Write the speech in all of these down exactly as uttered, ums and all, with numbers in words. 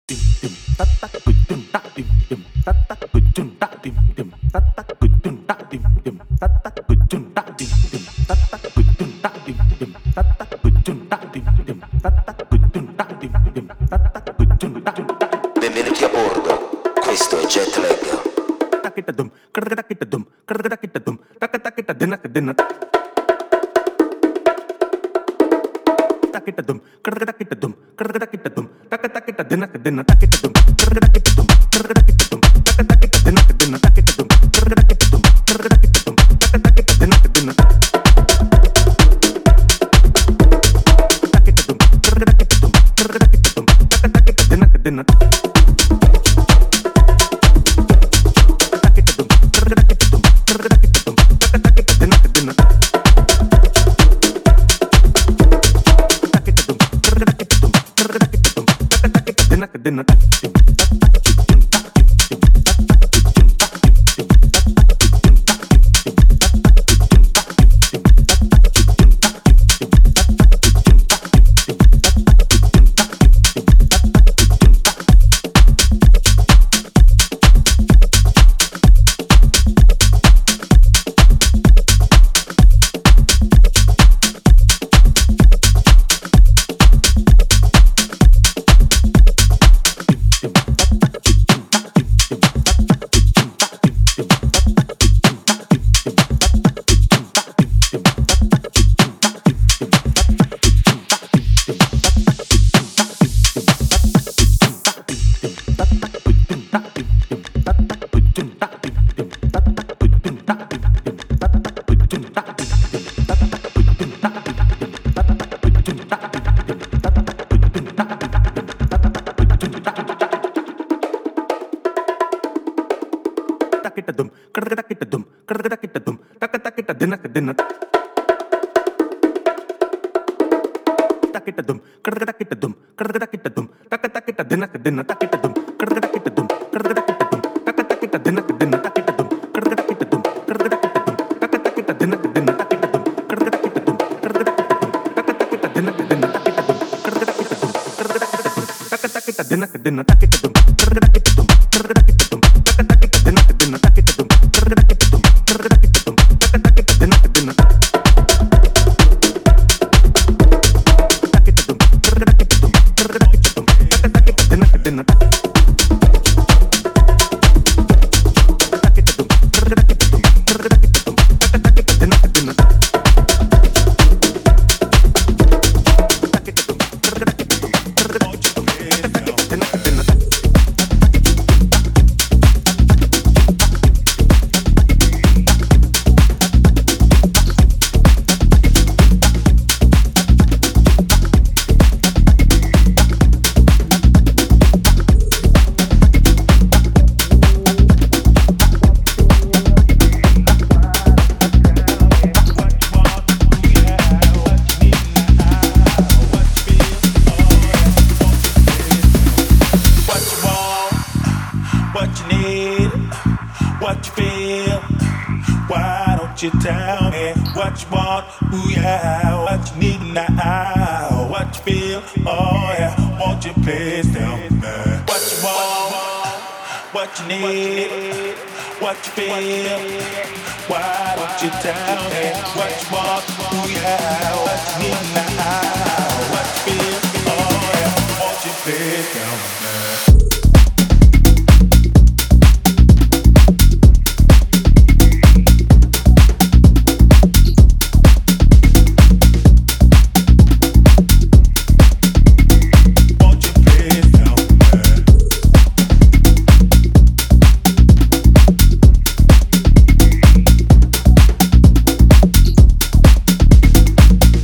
Benvenuti a bordo, questo è Jetlag.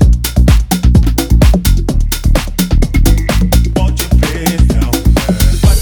Watch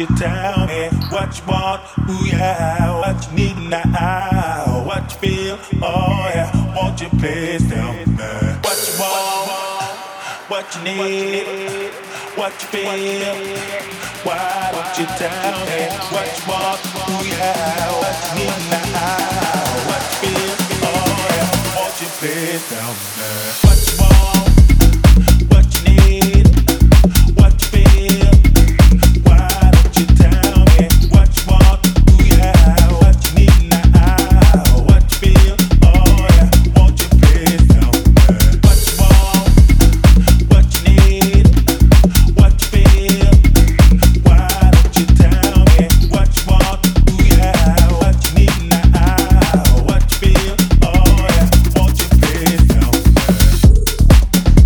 you tell me what you want? Ooh yeah, what you need now? What you feel? Oh yeah, won't you please tell me what you want? What you need? What you feel? Why don't you tell me what you want? Ooh yeah, what you need now? What you feel? Oh yeah, won't you please tell me what you want? What you need? What you feel? Why don't you tell me what you want? Ooh yeah, what you need now? What you feel? Oh yeah, won't you please tell me what you want? What you need? What you feel? Why don't you tell me what you want? Ooh yeah, what you need now? What you feel? Oh yeah, won't you please tell me?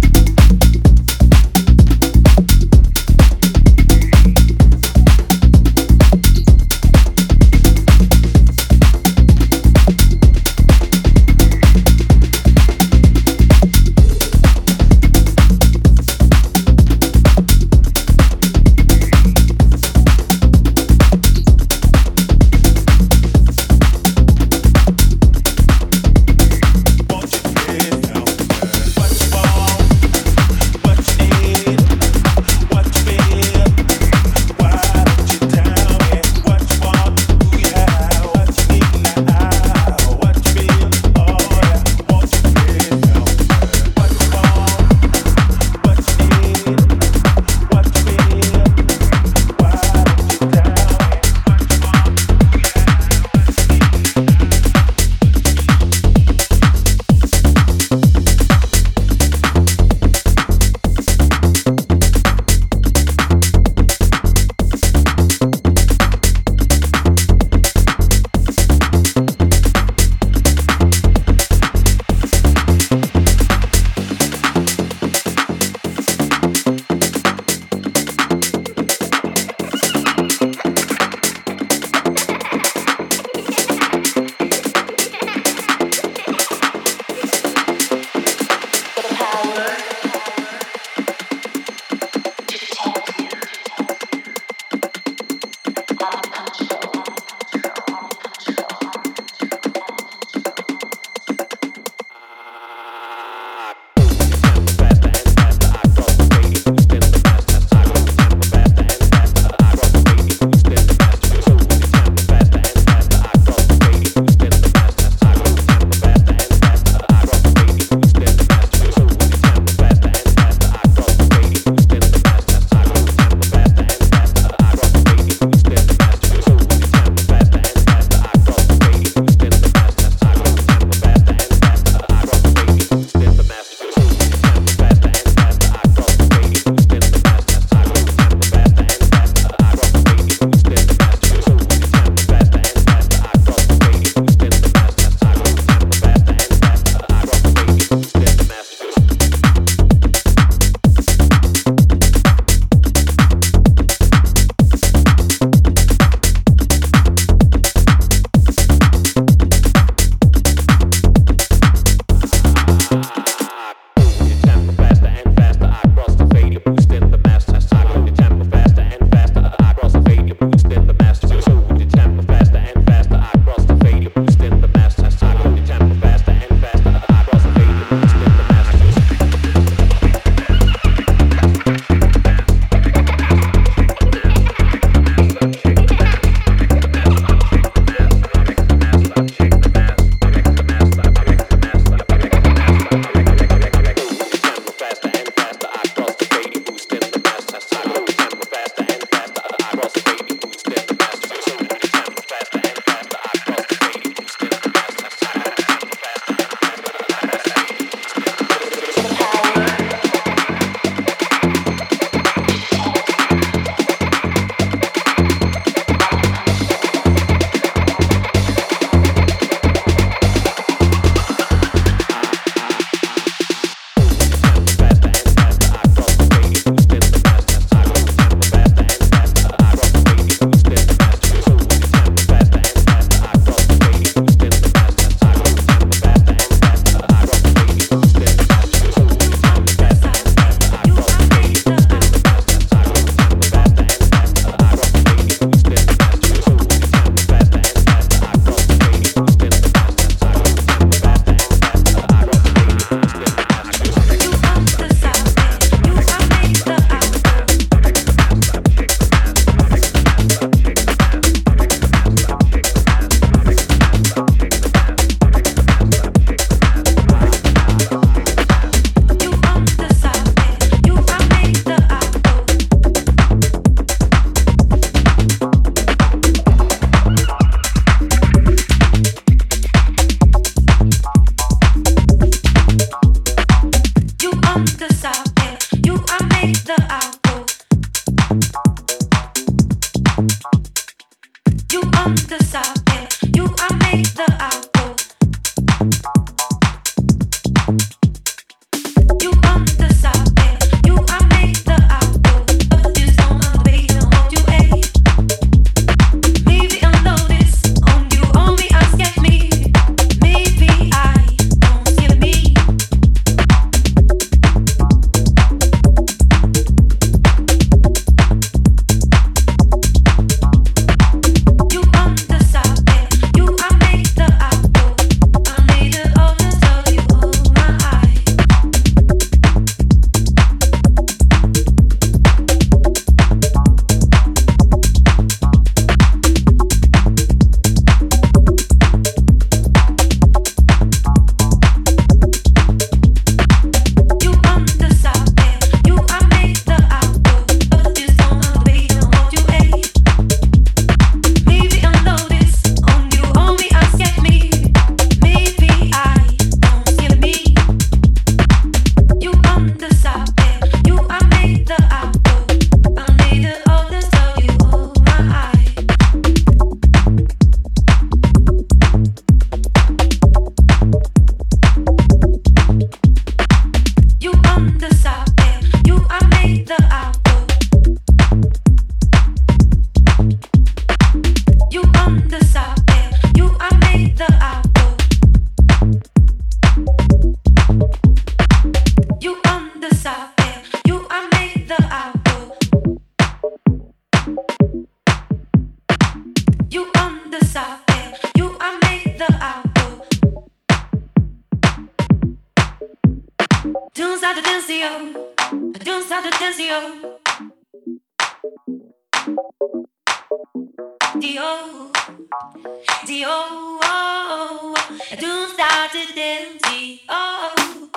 Don't stop the dance, yo. Don't stop the dance, yo. Dio, Dio, don't stop the dance, Dio.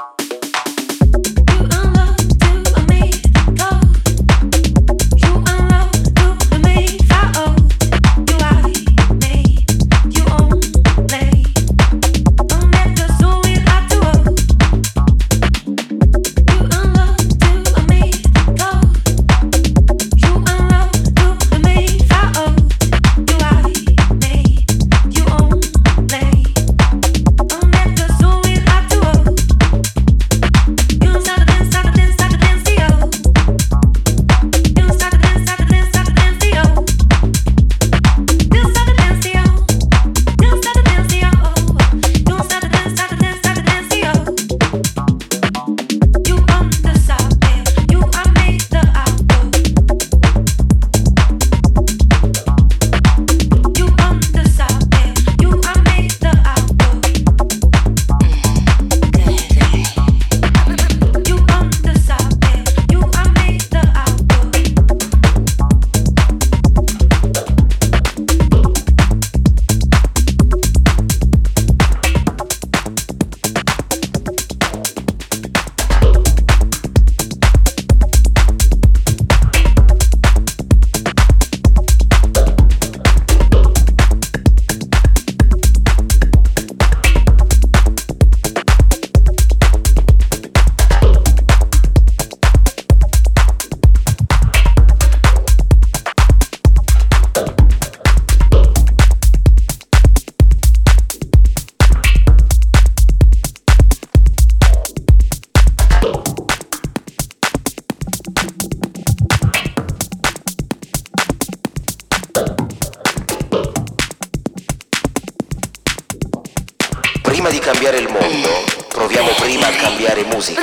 Prima di cambiare il mondo, proviamo prima a cambiare musica.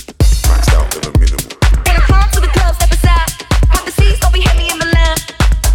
When I come to the club, step aside. Want the seats, don't be heavy in the line.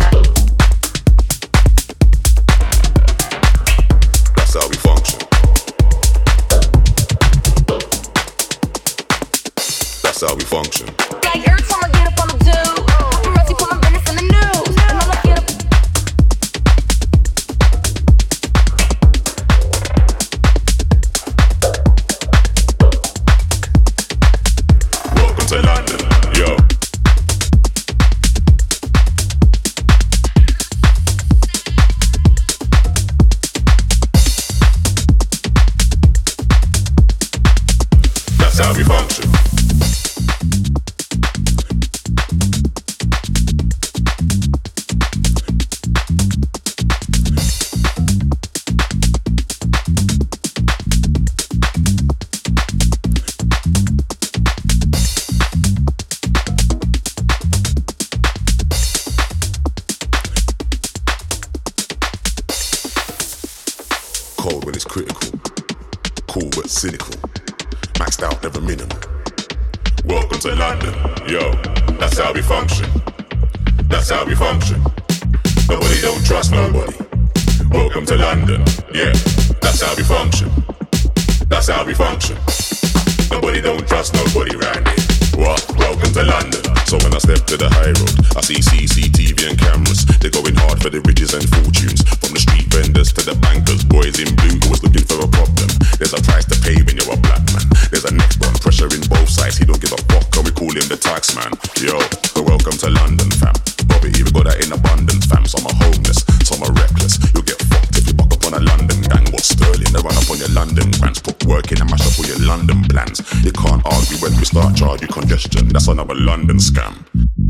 Cold when it's critical. Cool but cynical. Maxed out, never minimal. Welcome to London, yo. That's how we function. That's how we function. Nobody don't trust nobody. Welcome to London, yeah. That's how we function. That's how we function. Nobody don't trust nobody round here. What? Welcome to London. So when I step to the high road, I see C C T V and cameras. They're going hard for the riches and fortunes. From the street vendors to the bankers, boys in blue always looking for a problem. There's a price to pay when you're a black man. There's a next one, pressure in both sides. He don't give a fuck, and we call him the tax man. Yo, so welcome to London, fam. Poverty, we got that in abundance, fam. Some are homeless, some are reckless. You'll get fucked if you buck up on a London gang. What's sterling? They run up on your London grants. Put work in and mash up all your London plans. You can't argue when we start charge you congestion. That's another London scam.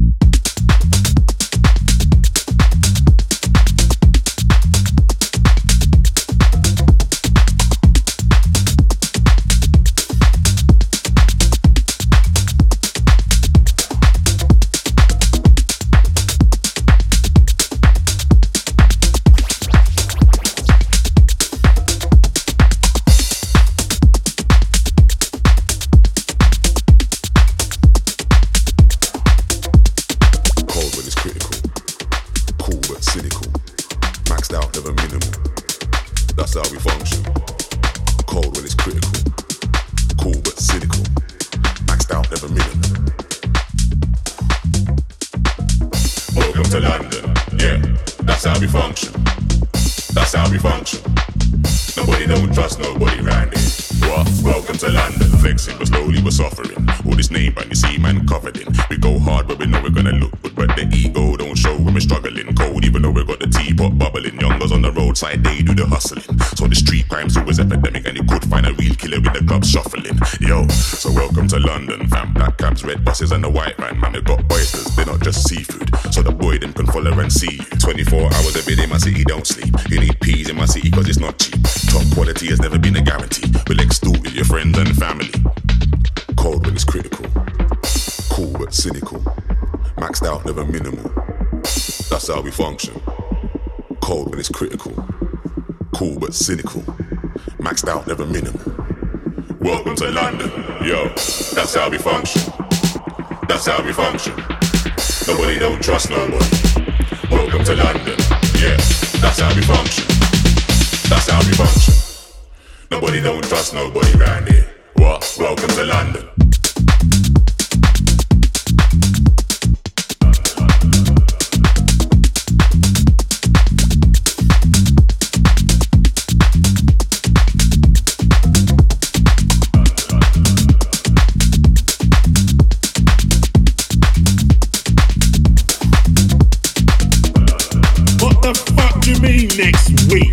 They do the hustling. So the street crime's always epidemic, and you could find a real killer with the club shuffling. Yo, so welcome to London, fam. Black cabs, red buses, and the white man. Man, they got oysters, they're not just seafood. So the boy them can follow and see you. twenty-four hours every day, my city don't sleep. You need peas in my city cause it's not cheap. Top quality has never been a guarantee. We'll extort with your friends and family. Cold when it's critical. Cool but cynical. Maxed out, never minimal. That's how we function. Cold when it's critical. Cool but cynical. Maxed out, never minimal. Welcome to London, yo. That's how we function. That's how we function. Nobody don't trust nobody. Welcome to London, yeah. That's how we function. That's how we function. Nobody don't trust nobody round here. What? Welcome to London. Next week.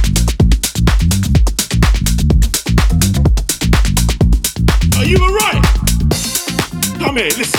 Are you alright? Come here, listen.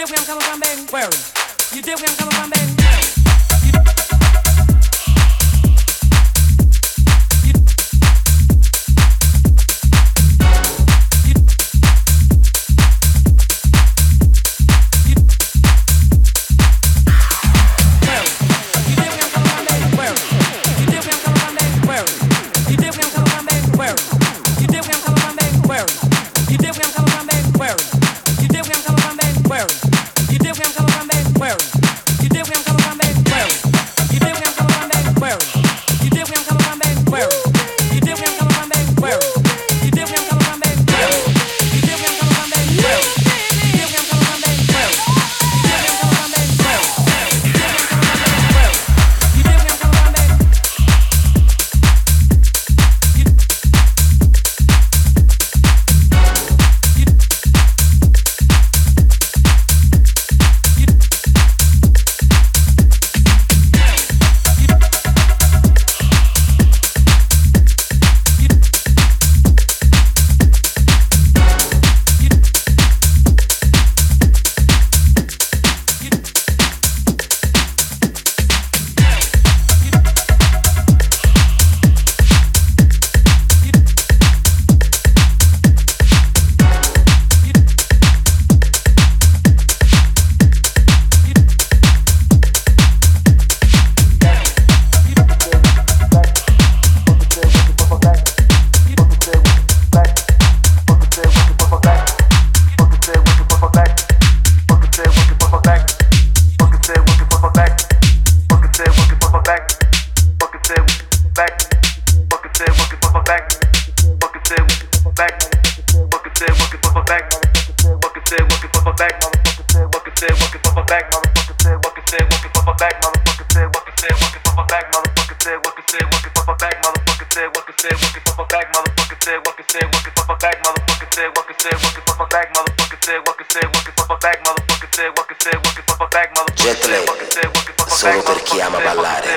dig where I'm coming from, baby? Where? You dig where I'm coming from, baby? Jetlag, solo per chi ama ballare.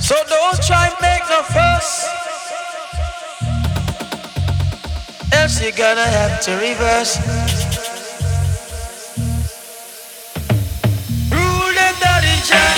So don't try and make no fuss, else you're gonna have to reverse. Rule them dirty jack.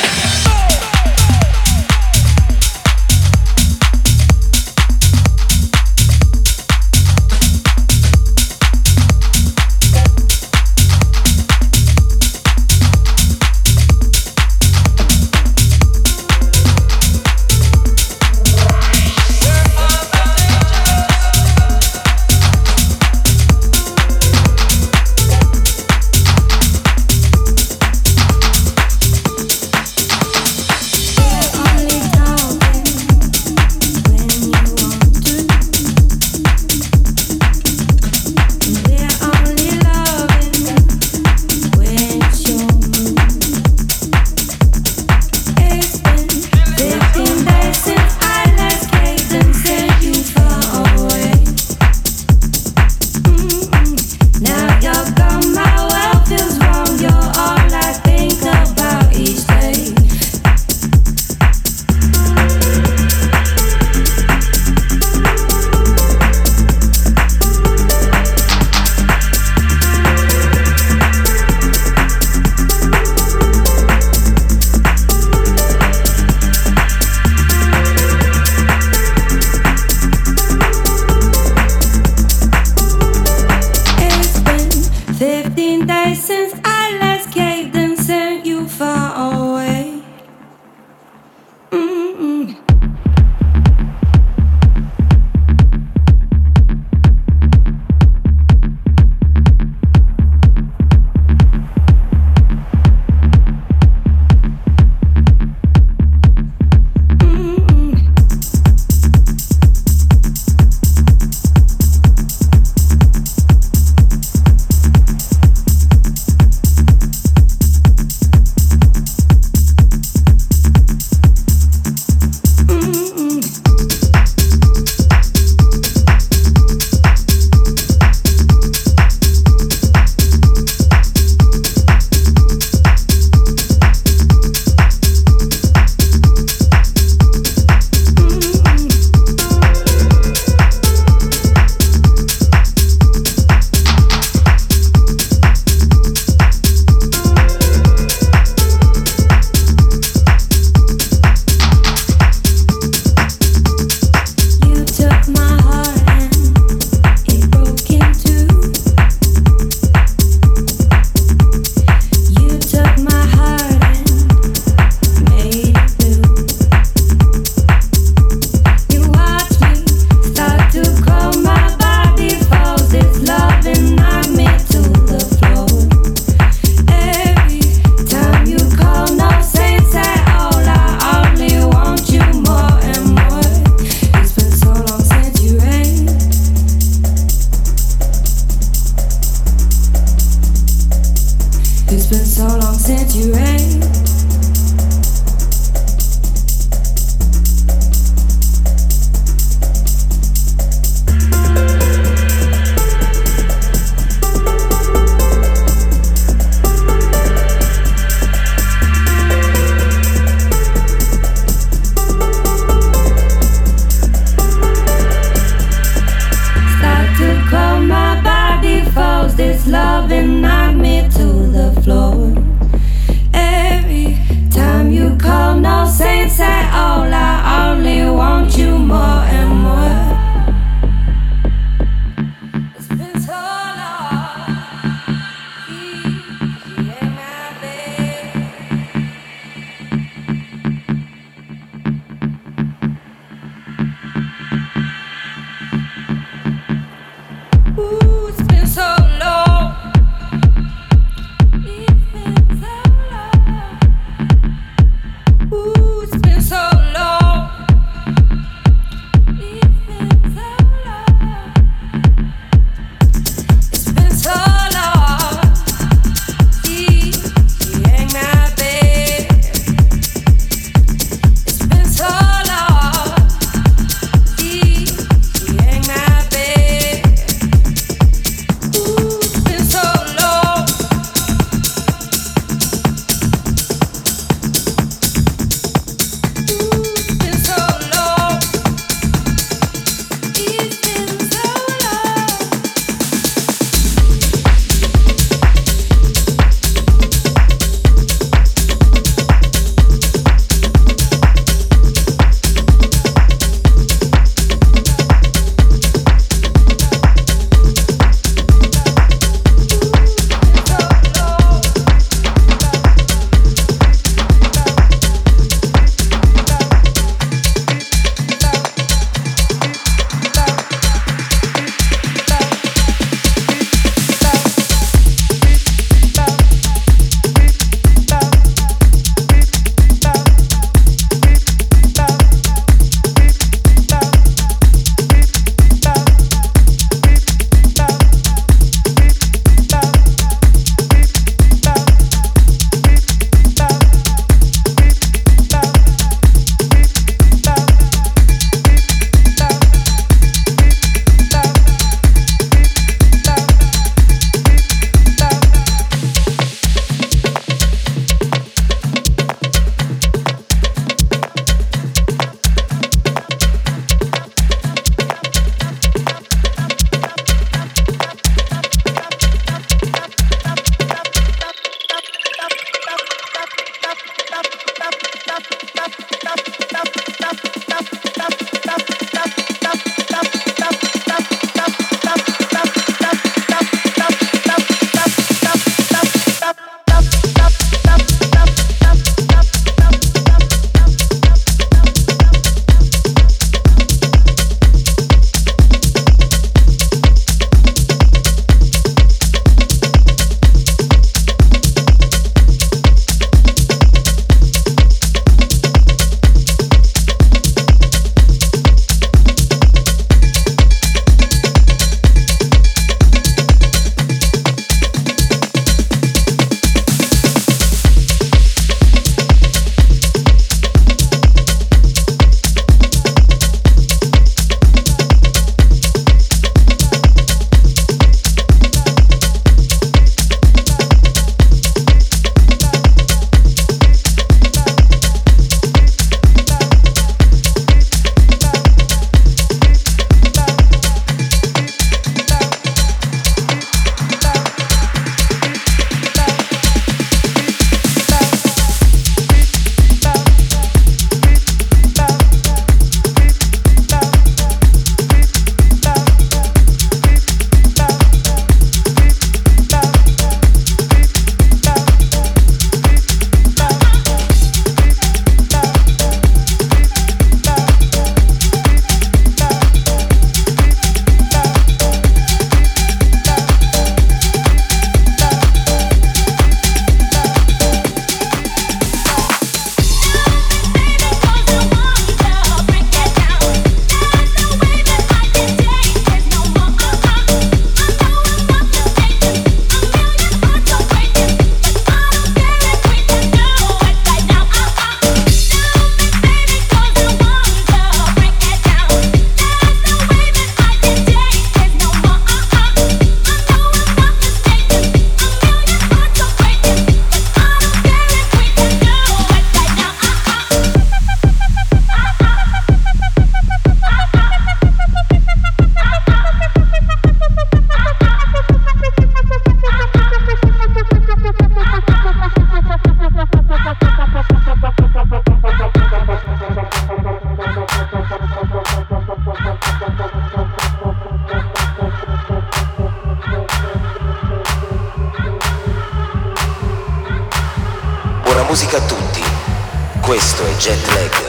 musica a tutti. Questo è Jet Lag.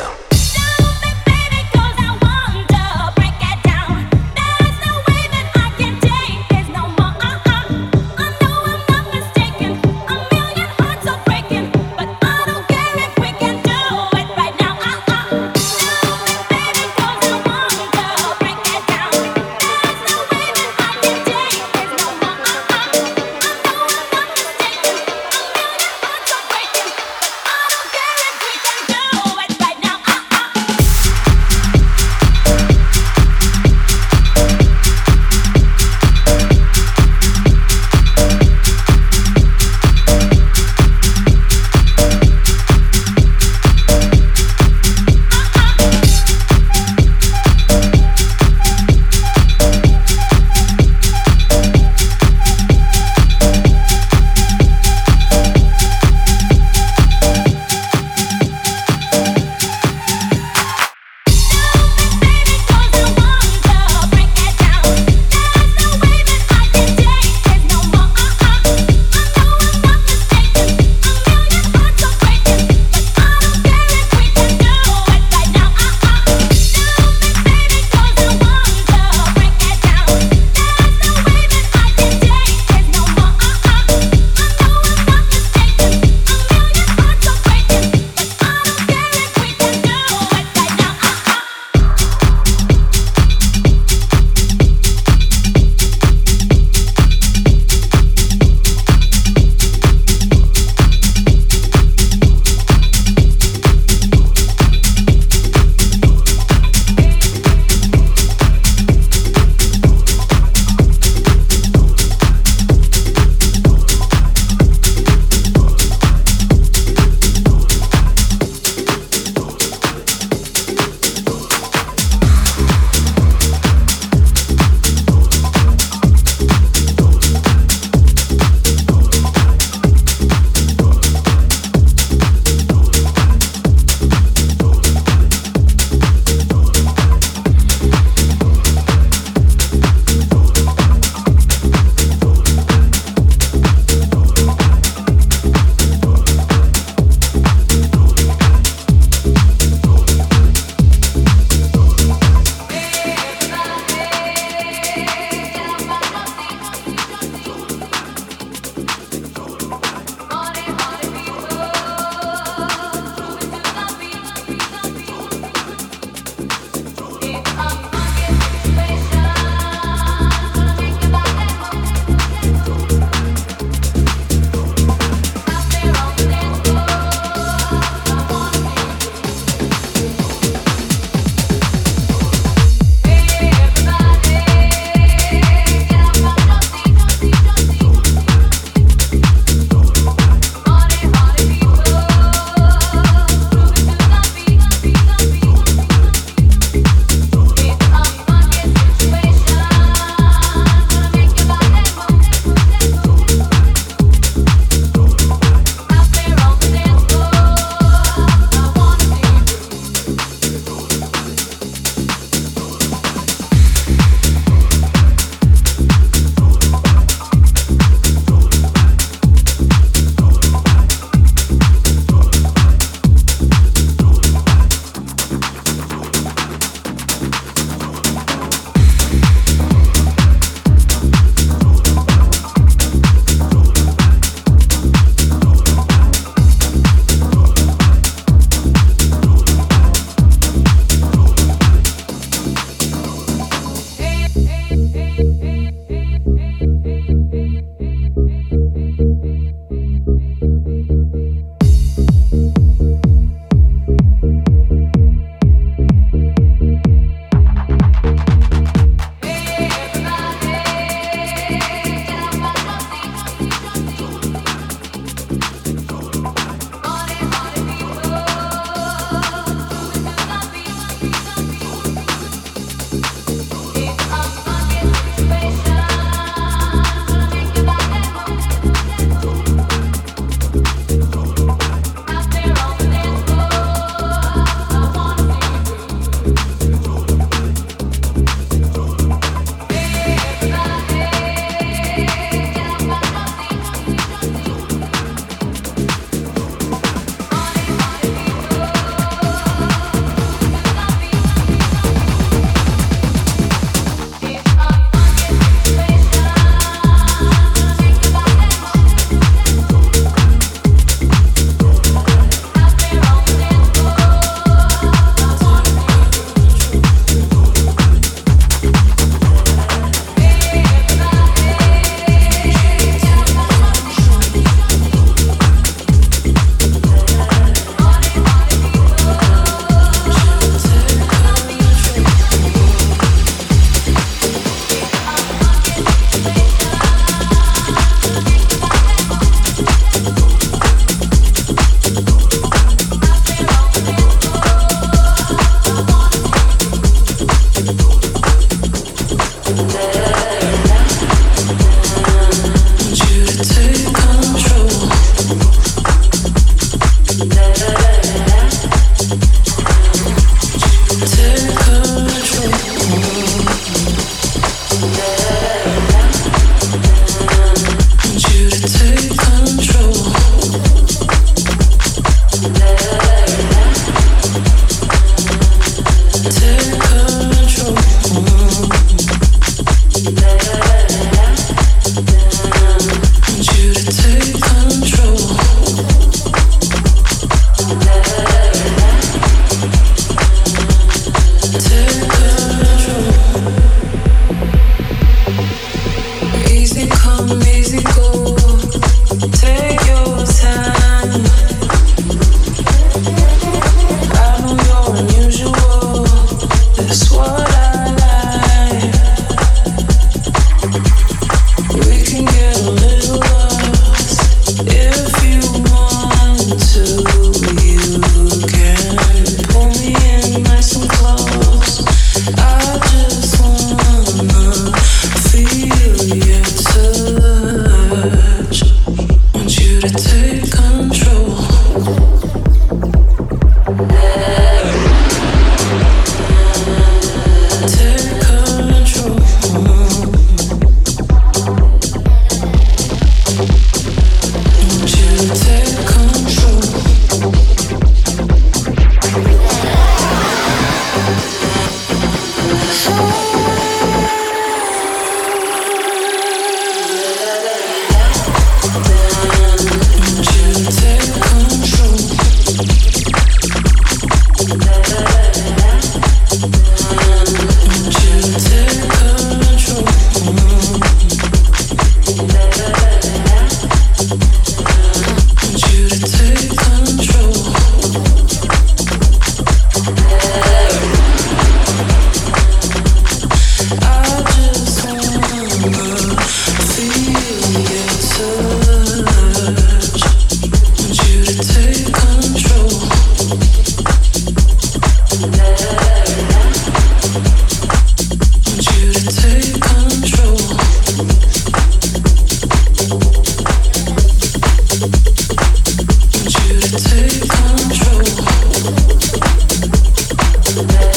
Right now.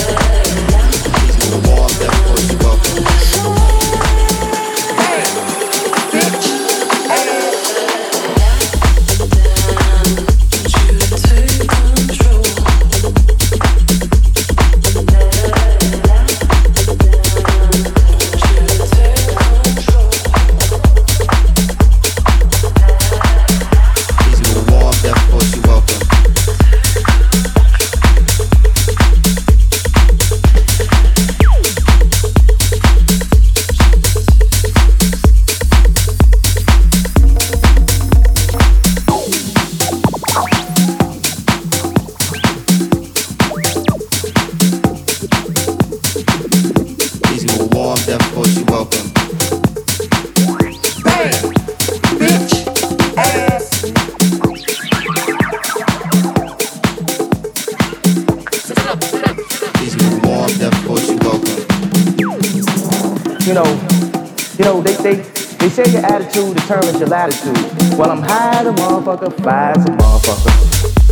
You know, you know, they, they, they say your attitude determines your latitude. Well, I'm high as a motherfucker, fly as a motherfucker.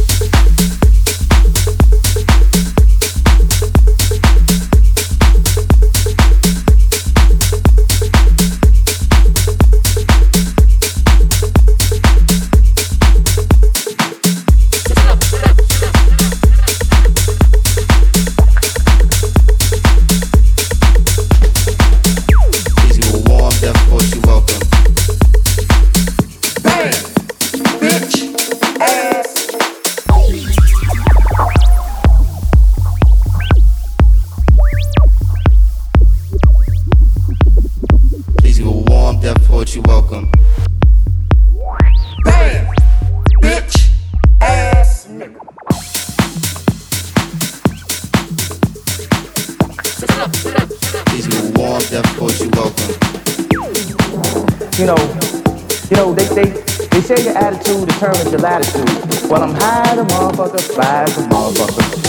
You know, you know, they, they, they say your attitude determines your latitude. Well, I'm high as a motherfucker, fly as a motherfucker.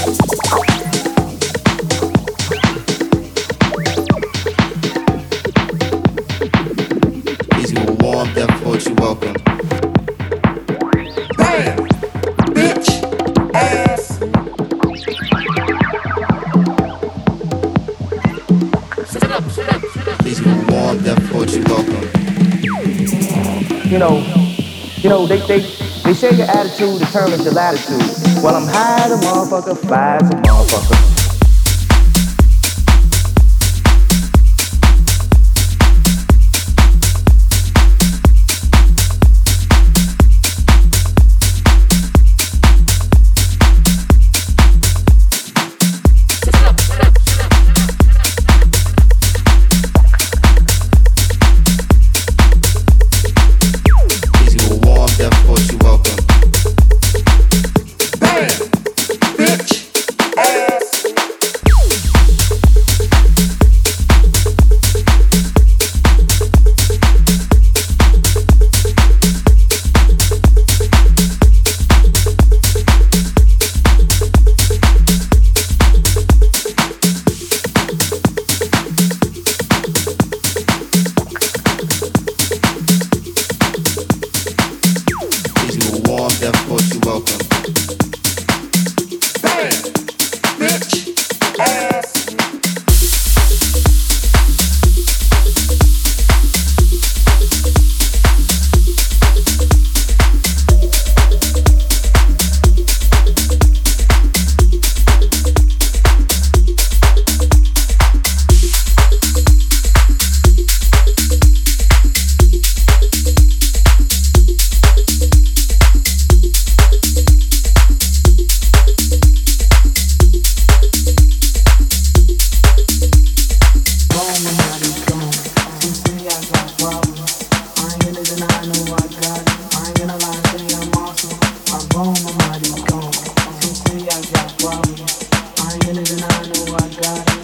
You know, you know, they, they, they say your attitude determines your latitude. Well, I'm high as a motherfucker, fly as a motherfucker. I got